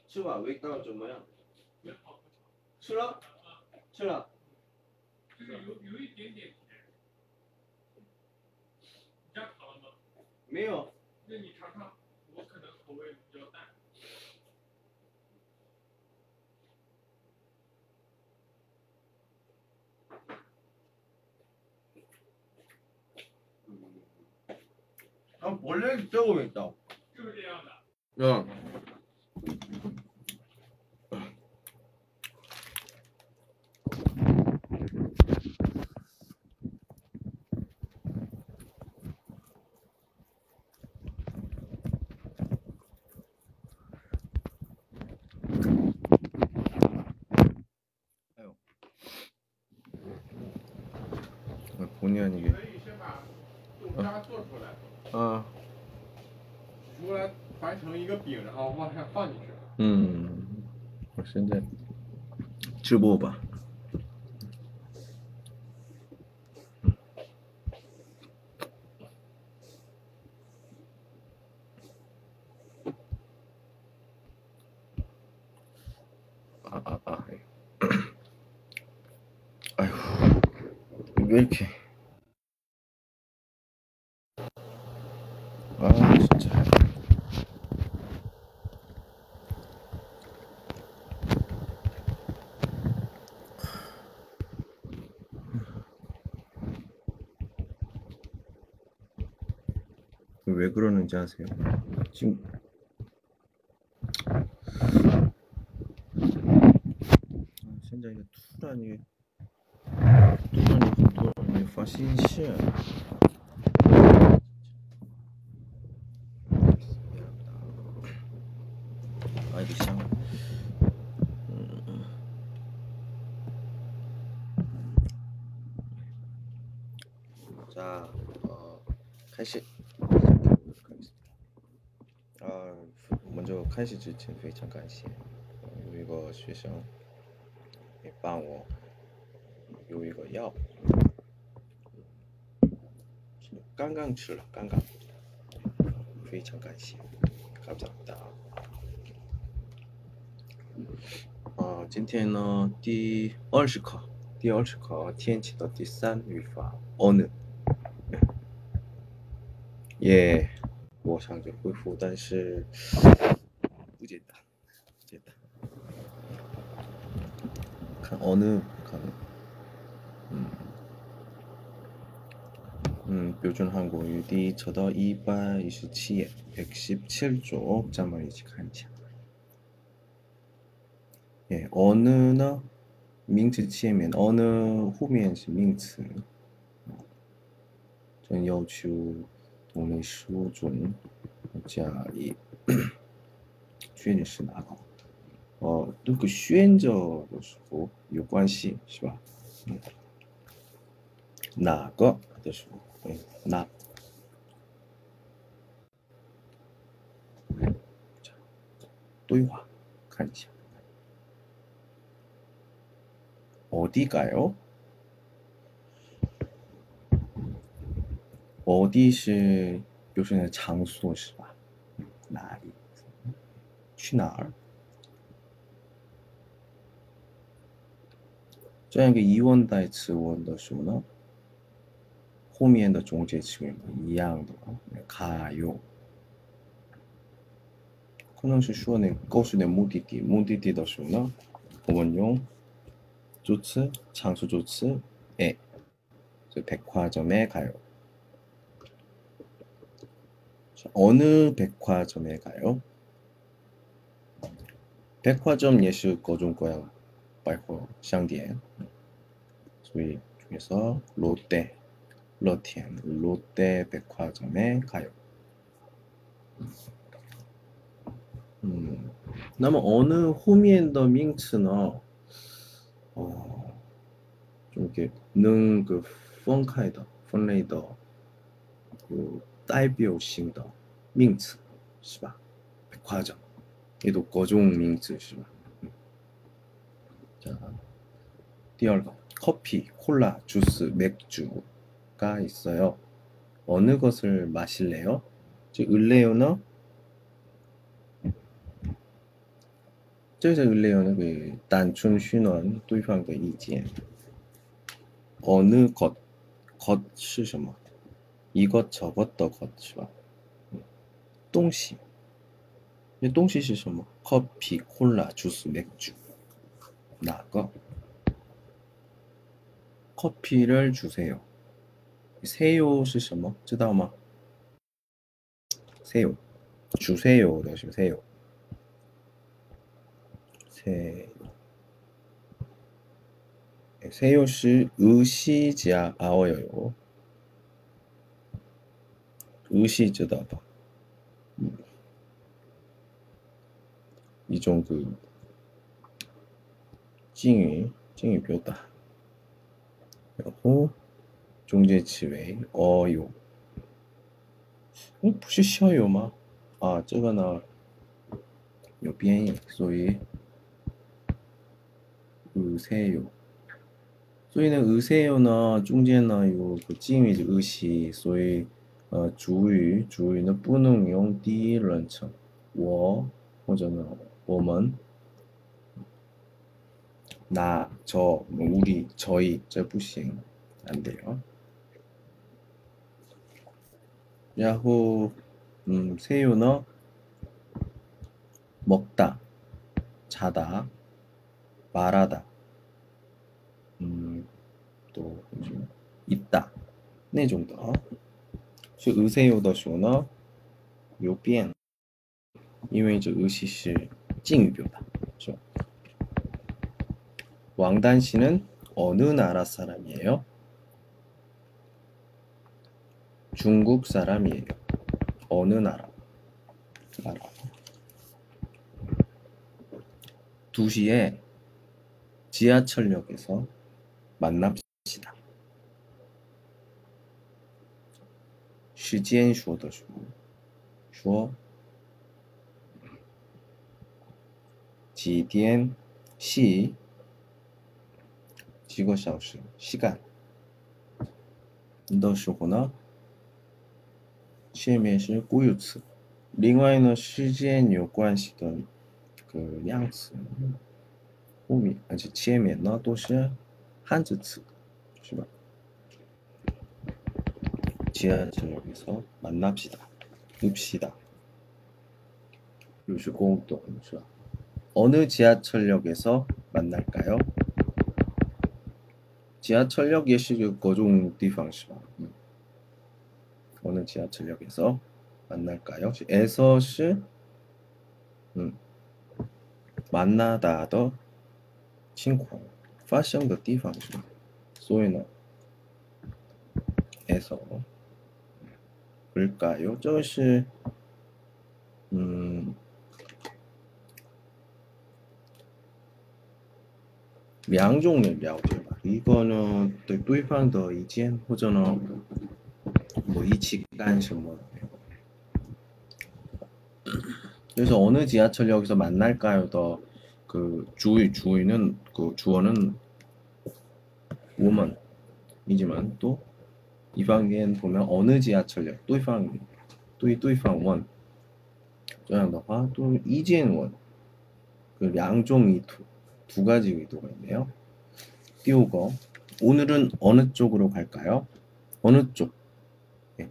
吃吧，味道怎么样？吃了，吃了。 就是有一点点甜。你加糖了吗？ 没有。 那你尝尝，我可能口味比较淡。 원래这个味道。 就是这样的。 嗯。哎呦，본의 아니게. 可以先把豆渣做出来。出来团成一个饼，然后往上放进去。 我现在直播吧。아휴, 왜 이렇게. 진짜. 왜 그러는지 아세요? 지금现在突然你发信息。아이고香。 자,开始。 먼저 开始之前非常感谢有一个学生也帮我有一个药，刚刚吃了，刚刚，非常感谢，감사합니다。今天呢第20课，天气的第3语法어느。也我想着恢复，但是不简单，看어느看。标准韩国语第册的227页 117쪽 자막一起看一下。어느呢名词前面어느后面是名词。真要求动类事物中加以确定是哪个。这个选择的时候有关系是吧？哪个的时候，哪。对话看一下。어디가요？ 어디是表示的场所是吧？哪里？去哪儿？这样一个疑问带词问的时候呢，后面的中介词一样的가요。可能是说呢告诉你目的地的时候呢，我们用助词场所助词백화점에 가요。 어느 백화점에 가요？ 백화점也是各种各样百货商店，所以중에서 롯데 백화점에 가요。 那么어느后面的名词呢，좀 이렇게能分开的分类的有代表性的名词是吧？ 백화점 얘도各种名词是吧？ 자, 第二个 커피, 콜라, 주스, 맥주가 있어요. 어느 것을 마실래요? 즉 을래요는 这个类有那个单纯询问对方的意见。어느 것， 것是什么？이것 저것的것是吧？东西。那东西是什么？ 커피, 콜라, 주스, 맥주. 哪个？ 커피를 주세요. 세요 是什么？知道吗？ 세요. 주세요的是 세요. 세요 是 의시자 아워요. 의시 知道吧？一种个敬语表达。然后中间词为어요。不是校友吗？啊，这个呢有变音，所以의세요。所以呢，의세요呢中间呢有个敬语的의시，所以主语呢不能用第一人称，我或者呢我们，나, 저, 우리, 저희, 这不行，안 돼요。然后세요는 먹다, 자다, 말하다, 또 있다, 那种的啊。是의세요的时候呢有变，因为这의시是敬语表达，是吧？왕단 씨는 어느 나라 사람이에요? 중국 사람이에요. 어느 나라? 2시에 지하철역에서 만납시다. 时间说的时候说几点시几个小时 시간 的时候呢前面是固有词，另外呢时间有关系的个量词后面而且前面呢都是汉字词，是吧？ 지하철역에서 만납시다. 읍시다. 又是공동是吧？ 어느 지하철역에서 만날까요? 지하철역 也是个各种地方是吧？ 어느 지하철역에서 만날까요? 에서 是 만나다的情况发生的地方是吧？所以呢 에서 그럴까요? 这个是两种的了解吧。一个呢对对方的意见，或者呢我一起干什么。그래서 어느 지하철역에서 만날까요? 더 그 주의는 그 주어는 woman이지만 또 이방엔 보면 어느 지하철역 对方问这样的话또 이젠원 그 양종 두 가지 의도가 있네요. 띄우고 오늘은 어느 쪽으로 갈까요? 어느 쪽? 예.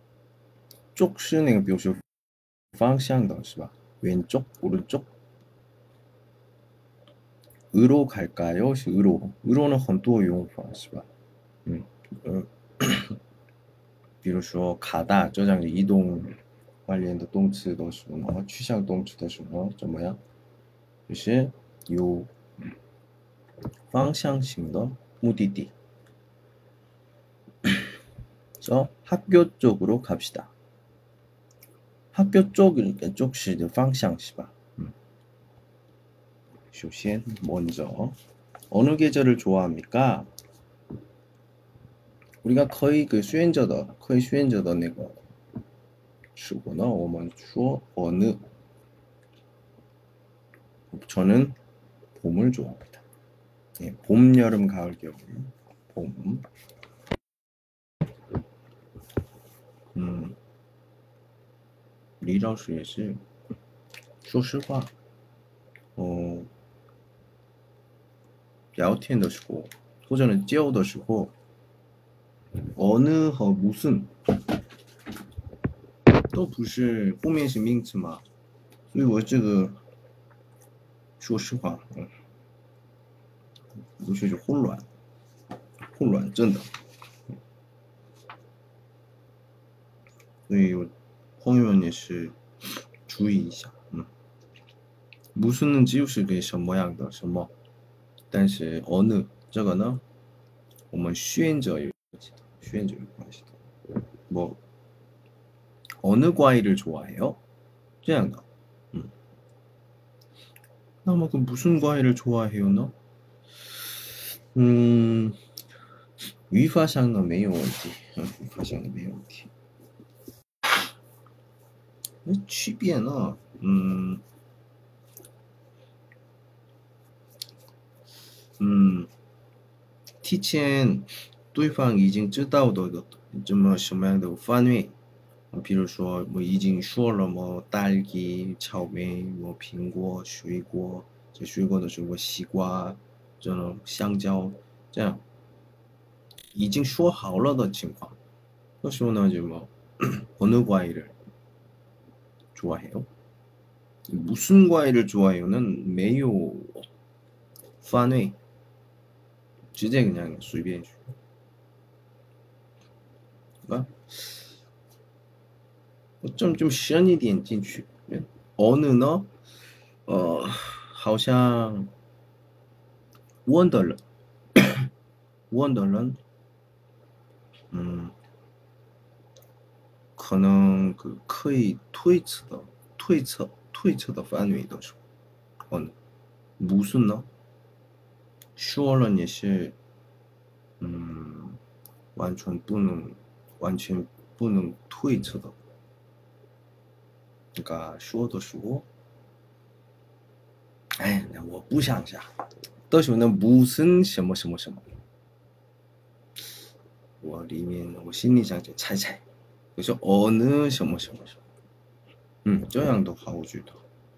쪽은表示方向的是吧？ 왼쪽, 오른쪽? 으로 갈까요? 是 으로는 很多用法是吧？比如说 가다 这样的移动关联的动词的时候呢，去向动词的时候怎么样？就是有方向性的目的地。그래서 학교 쪽으로 갑시다. 학교 쪽이니까 쪽시 방향是吧？ 首先 먼저 어느 계절을 좋아합니까? 우리가 거의 그 수행者的 那个时候呢，我们说어느 저는 봄을 좋아합니다. 예, 봄, 여름, 가을, 겨울. 봄. 李老师也是说实话聊天的时候或者交的时候어느和무슨都不是后面是名词嘛，所以我这个说实话，有些就混乱，真的。所以我朋友们也是注意一下，무슨은就是个什么样的什么，但是어느这个呢，我们选择有关系的。뭐 어느 과일을 좋아해요? 这样的，那么그 무슨 과일을 좋아해요呢？语法上呢没有问题，语法上的没有问题。那区别呢？提前对方已经知道的这么什么样的范围，比如说我已经说了么딸기、草莓、么苹果、水果，这水果的时候西瓜、这种香蕉，这样已经说好了的情况，那时候呢就뭐 어느 과일을 좋아해요? 무슨 과일을 좋아해요는 没有范围，直接그냥随便说，啊，좀深一点进去。어느呢？好像问的人，可能可以推测的范围的时候，무슨呢？说了也是，完全不能推测的。그러니까说的时候，哎，那我不想下，到时候呢무슨什么什么什么，我心里想就猜，我说어느什么什么什么，这样的话我觉得，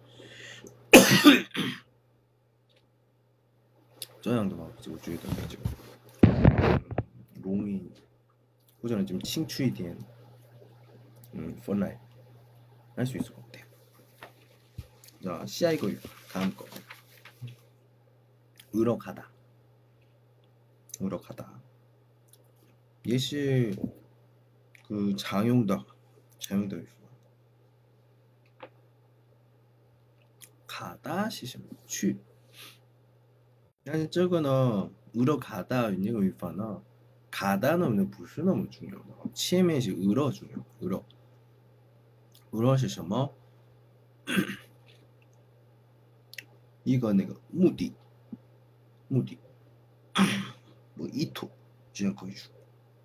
这样的话我觉得比较容易，或者좀清楚一点，分来할 수 있을 것 같아요. 자, 시아 이거 다음 거. 으러가다. 예시 그 장용더. 가다 시점 去. 아니 저거는 으러가다 이거 위파나 가다는 不是那么重要的，前面是 으러 重要。으러是什么？一个那个目的，我意图，这样可以说。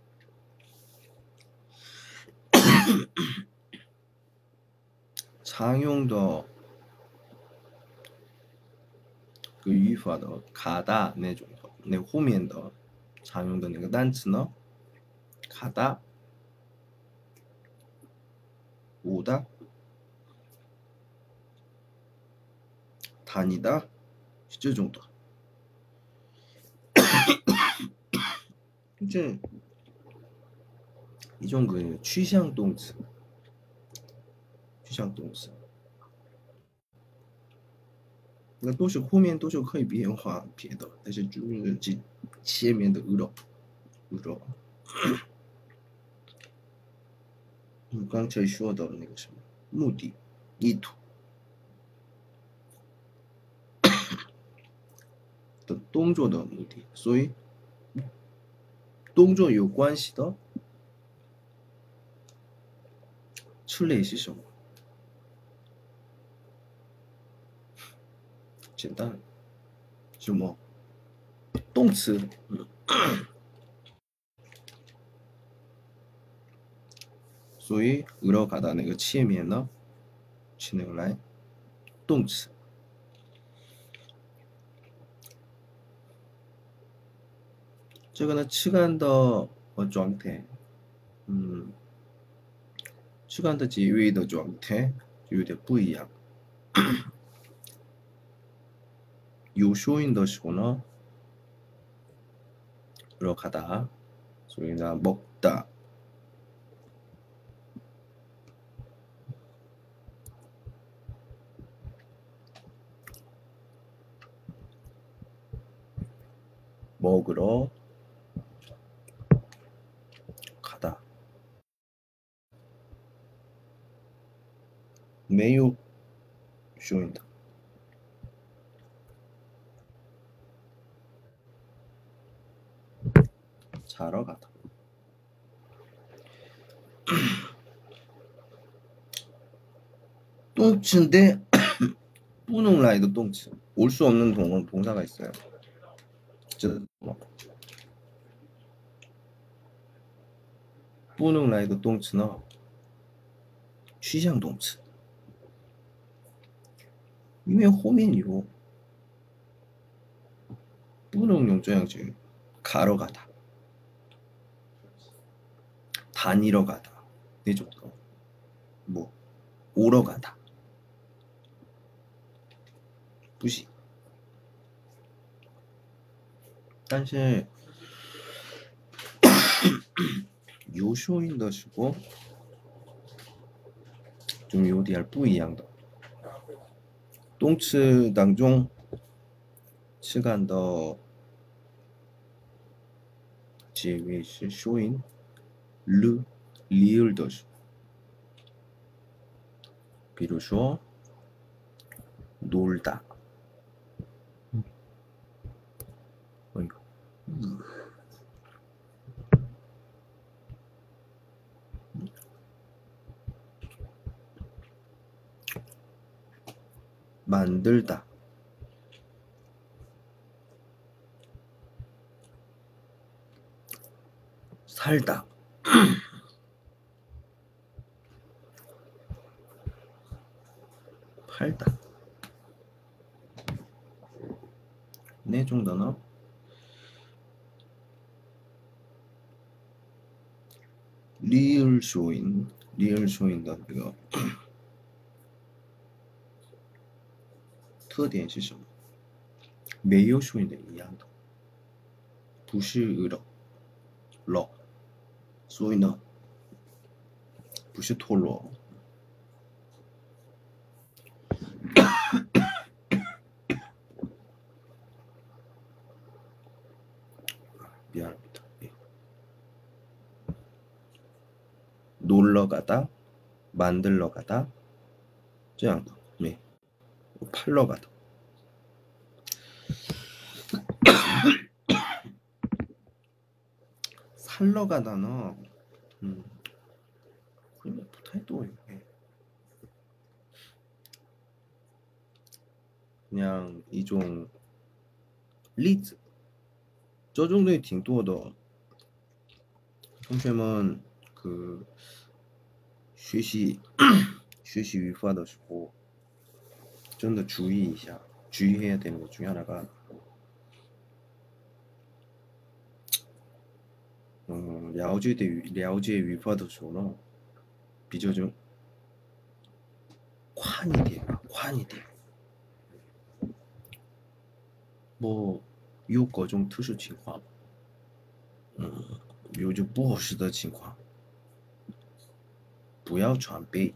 常用的个语法的가다那种的，那后面的常用的那个单词呢，가다、오다、다니다是这种的。这一种个趋向动词，那都是后面都是可以变化别的，但是就是这前面的으러，你刚才说的那个什么目的、意图的动作的目的，所以动作有关系的词类是什么？简单，什么动词？所以으러가다那个前面呢，是那个来动词。这个呢，吃干的状态，吃干的结尾的状态就有点不一样。 有收音的时候呢， 들어가다, 소리나 먹다, 먹으러 가다. 매우 쇼인다. 자러 가다. 똥츠인데 뿌능라이더 똥츠. 올 수 없는 동사가 있어요. 뿌능라이더 똥츠는 趋向动词，因为后面有不能用这样去 가러 가다, 다니러 가다, 那种的，뭐 오러 가다, 不行。但是有收音的时候좀有点不一样的。动词当中词干的结尾是收音 르, 리을的时候，比如说 놀다, 만들다, 살다, 팔다. 네 정도는 리얼 쇼인的这个特点是什么？没有收音的一样的，不是了，所以呢，不是脱落。미안합니다. 예. 놀러 가다, 만들러 가다, 这样的，네. 팔러 가다. 살러 가다는 不太多. 그냥 一种例子，这种类挺多的。同学们그学习语法的时候真的注意一下，주의해야 되는 것 중에 하나가了解语法的时候呢，比较좀宽一点吧，宽一点。뭐有各种特殊情况，有就不合适的情况，不要全背，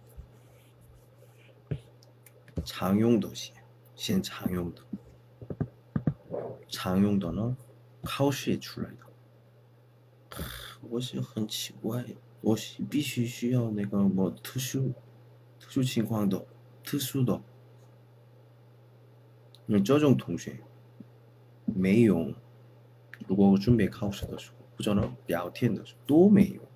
常用的先常用的，常用的呢，考试也出来的。我是很奇怪，我是必须需要那个么特殊情况的，特殊的。那这种同学没用，如果我准备考试的时候，或者呢聊天的时候都没用。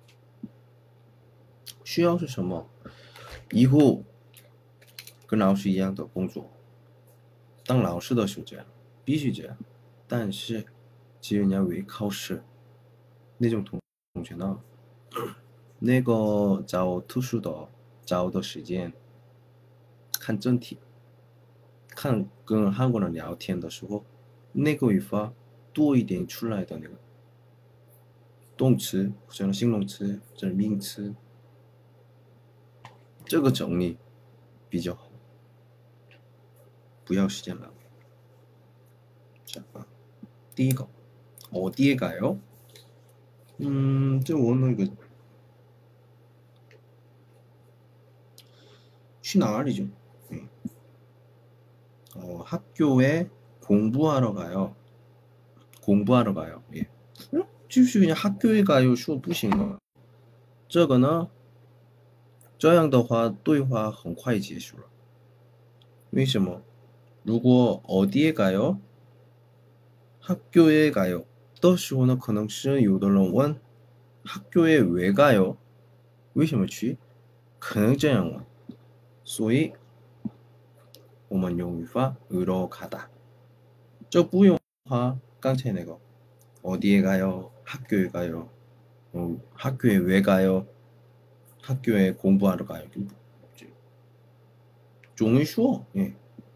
需要是什么？以后跟老师一样的工作，当老师的时候这样，必须这样。但是只有你要为考试，那种同学呢，那个找特殊的找的时间，看整体，看跟韩国人聊天的时候，那个语法多一点出来的那个动词或者形容词或者名词，这个整理比较好，不要时间浪费。 자, 第一个 어디에 가요? 这我那个去哪里죠? 학교에 공부하러 가요. 공부하러 가요. 예. 继续 그냥 학교에 가요. 说不行吗? 这个呢这样的话对话很快结束了为什么如果 어디에 가요? 학교에 가요. 的时候呢可能是有的人问 학교에 왜 가요? 为什么去可能这样问所以我们用语法 으러 가다 这不用话刚才那个 어디에 가요? 학교에 가요. 학교에 왜 가요? 학교에 공부하러 가요. 容易说 예.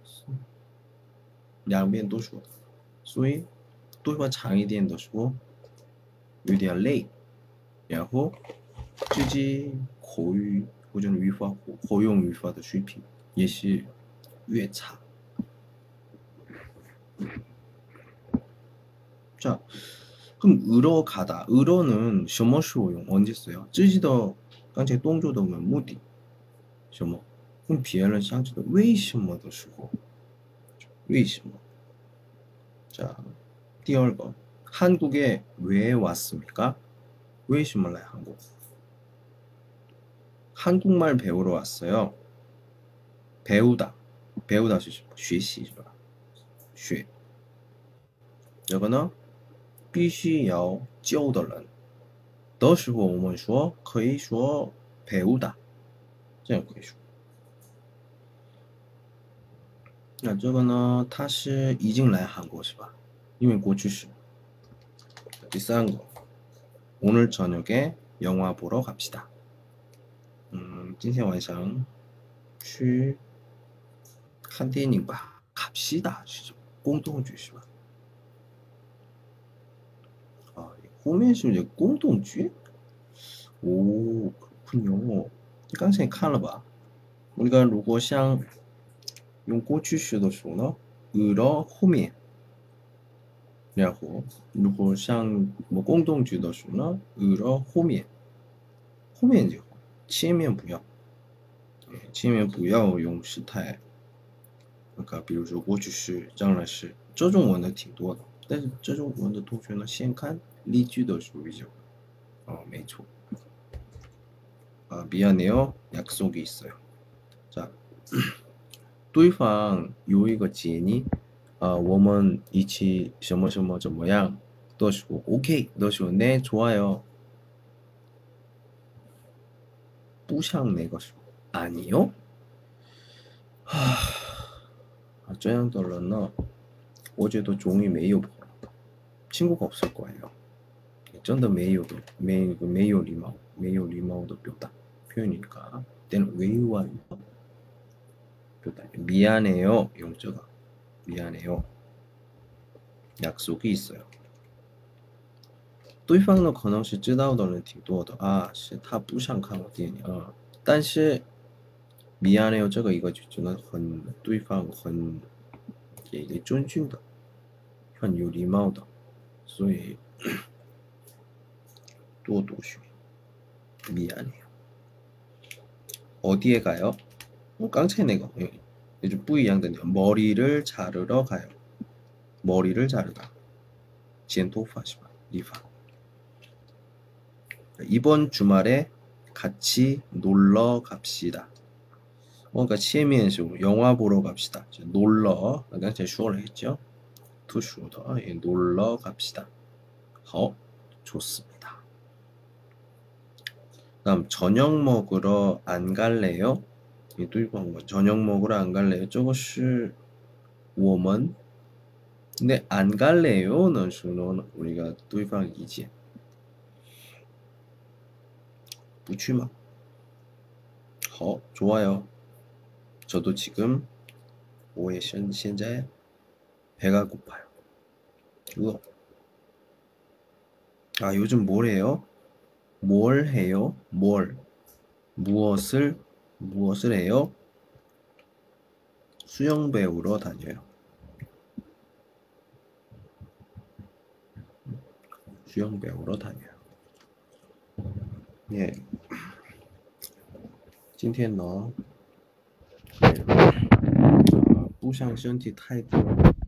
两边都说所以对话长一点的时候有点累然后自己口语或者语法活用语法的水平也是越差 자, 그럼 으러 가다. 으러는 什么时候用? 언제 써요? 刚才动作的目的什么? 그럼 别人想知道为什么的时候为什么? 자, 第二个 한국에 왜 왔습니까? 为什么来韩国? 한국말 배우러 왔어요. 배우다. 배우다 学习是吧?学这个呢必须要教的人的时候我们说可以说 배우다 这样可以说那这个呢他是已经来韩国是吧因为过去式第三个 오늘 저녁에 영화 보러 갑시다 今天晚上去看电影吧 갑시다 是公动句是吧后面是不是公动句 오, 그렇군요. 刚才看了吧 우리가 如果想用过去式的时候呢 으러 后面然后如果像公动句的时候呢 으러 后面后面就好前面不要前面不要用时态比如说过去式将来式这种问的挺多的但是这种问的同学呢先看例句的时候比较没错 미안해요. 약속이 있어요. 자, 对方有一个建议我们一起什么什么怎么样的时候 OK 的时候 네 좋아요. 不想那个时候 아니요. 这样的人呢我觉得终于没有친구가 없을 거예요. 真的没有礼貌的表达 표현이니까 때는 외유와 미안해요 용자가 미안해요 약속이 있어요 对方呢可能是知道的人挺多的是他不想看我电影但是 미안해요 这个一个句子呢很对方很也尊敬的很有礼貌的所以多读学 미안해요 어디에 가요?刚才那个不一样的 머리를 자르러 가요. 머리를 자르다. 剪头发是吧? 리파. 이번 주말에 같이 놀러 갑시다. 그러니까 前面是 영화 보러 갑시다. 놀러. 刚才说了했죠? 说的 놀러 갑시다. 好, 좋습니다. 다음 저녁 먹으러 안 갈래요? 이对方问 저녁 먹으러 안 갈래요? 这个是我们 근데 안 갈래요는 수는 우리가 对方意见不去吗? 好 좋아요. 저도 지금 我也现在 배가 고파요. 이거 요즘 뭘 해요? 뭘 해요? 무엇을 해요? 수영 배우러 다녀요. 需要배우러 다녀요. 예. 今天呢，不想身体太多